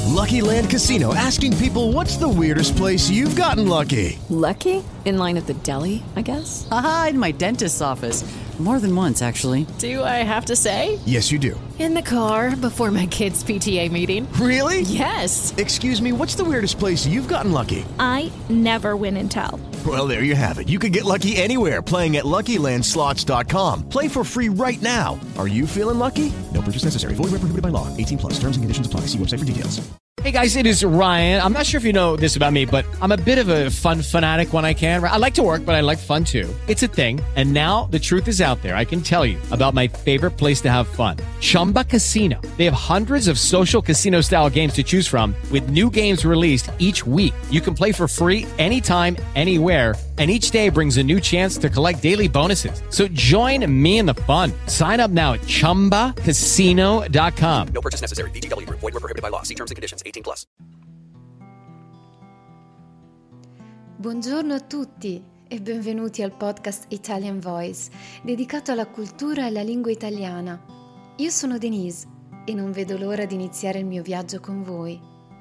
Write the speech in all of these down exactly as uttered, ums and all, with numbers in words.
Lucky Land Casino, asking people, what's the weirdest place you've gotten lucky? Lucky? In line at the deli, I guess? Aha, in my dentist's office. More than once, actually. Do I have to say? Yes, you do. In the car before my kids' P T A meeting. Really? Yes. Excuse me, what's the weirdest place you've gotten lucky? I never win and tell. Well, there you have it. You can get lucky anywhere, playing at Lucky Land Slots dot com. Play for free right now. Are you feeling lucky? No purchase necessary. Void where prohibited by law. eighteen plus. Terms and conditions apply. See website for details. Hey guys, it is Ryan. I'm not sure if you know this about me, but I'm a bit of a fun fanatic when I can. I like to work, but I like fun too. It's a thing. And now the truth is out there. I can tell you about my favorite place to have fun. Chumba Casino. They have hundreds of social casino style games to choose from with new games released each week. You can play for free anytime, anywhere. And each day brings a new chance to collect daily bonuses. So join me in the fun. Sign up now at chumba casino dot com. No purchase necessary. V G W. Void where prohibited by law. See terms and conditions. eighteen plus. Buongiorno a tutti e benvenuti al podcast Italian Voice, dedicato alla cultura e alla lingua italiana. Io sono Denise e non vedo l'ora di iniziare il mio viaggio con voi.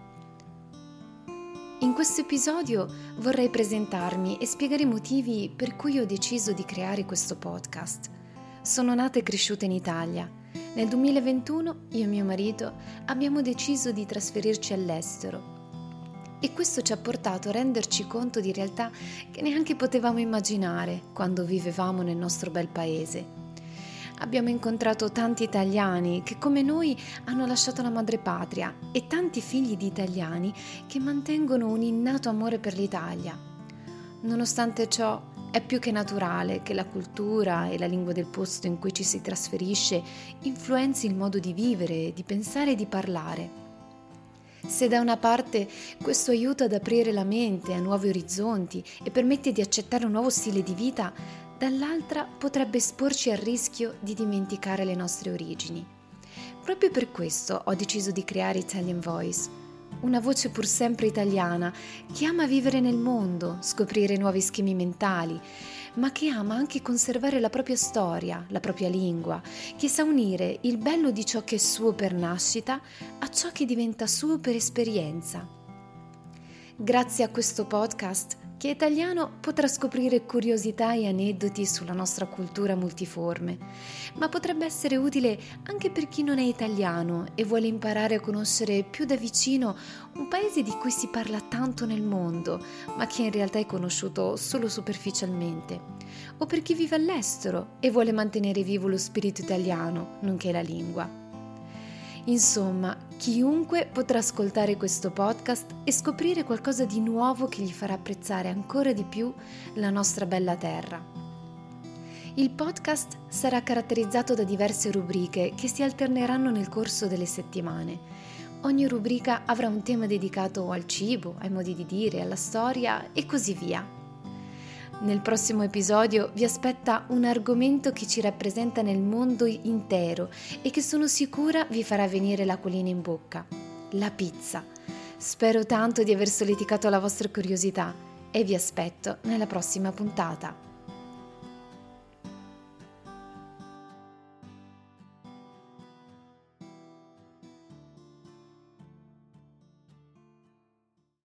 In questo episodio vorrei presentarmi e spiegare i motivi per cui ho deciso di creare questo podcast. Sono nata e cresciuta in Italia. Nel duemilaventuno io e mio marito abbiamo deciso di trasferirci all'estero e questo ci ha portato a renderci conto di realtà che neanche potevamo immaginare quando vivevamo nel nostro bel paese. Abbiamo incontrato tanti italiani che come noi hanno lasciato la madrepatria e tanti figli di italiani che mantengono un innato amore per l'Italia. Nonostante ciò, è più che naturale che la cultura e la lingua del posto in cui ci si trasferisce influenzi il modo di vivere, di pensare e di parlare. Se da una parte questo aiuta ad aprire la mente a nuovi orizzonti e permette di accettare un nuovo stile di vita, dall'altra potrebbe esporci al rischio di dimenticare le nostre origini. Proprio per questo ho deciso di creare Italian Voice, una voce pur sempre italiana che ama vivere nel mondo, scoprire nuovi schemi mentali, ma che ama anche conservare la propria storia, la propria lingua, che sa unire il bello di ciò che è suo per nascita a ciò che diventa suo per esperienza. Grazie a questo podcast, chi è italiano potrà scoprire curiosità e aneddoti sulla nostra cultura multiforme, ma potrebbe essere utile anche per chi non è italiano e vuole imparare a conoscere più da vicino un paese di cui si parla tanto nel mondo, ma che in realtà è conosciuto solo superficialmente, o per chi vive all'estero e vuole mantenere vivo lo spirito italiano, nonché la lingua. Insomma, chiunque potrà ascoltare questo podcast e scoprire qualcosa di nuovo che gli farà apprezzare ancora di più la nostra bella terra. Il podcast sarà caratterizzato da diverse rubriche che si alterneranno nel corso delle settimane. Ogni rubrica avrà un tema dedicato al cibo, ai modi di dire, alla storia e così via. Nel prossimo episodio vi aspetta un argomento che ci rappresenta nel mondo intero e che sono sicura vi farà venire l'acquolina in bocca: la pizza. Spero tanto di aver solleticato la vostra curiosità e vi aspetto nella prossima puntata.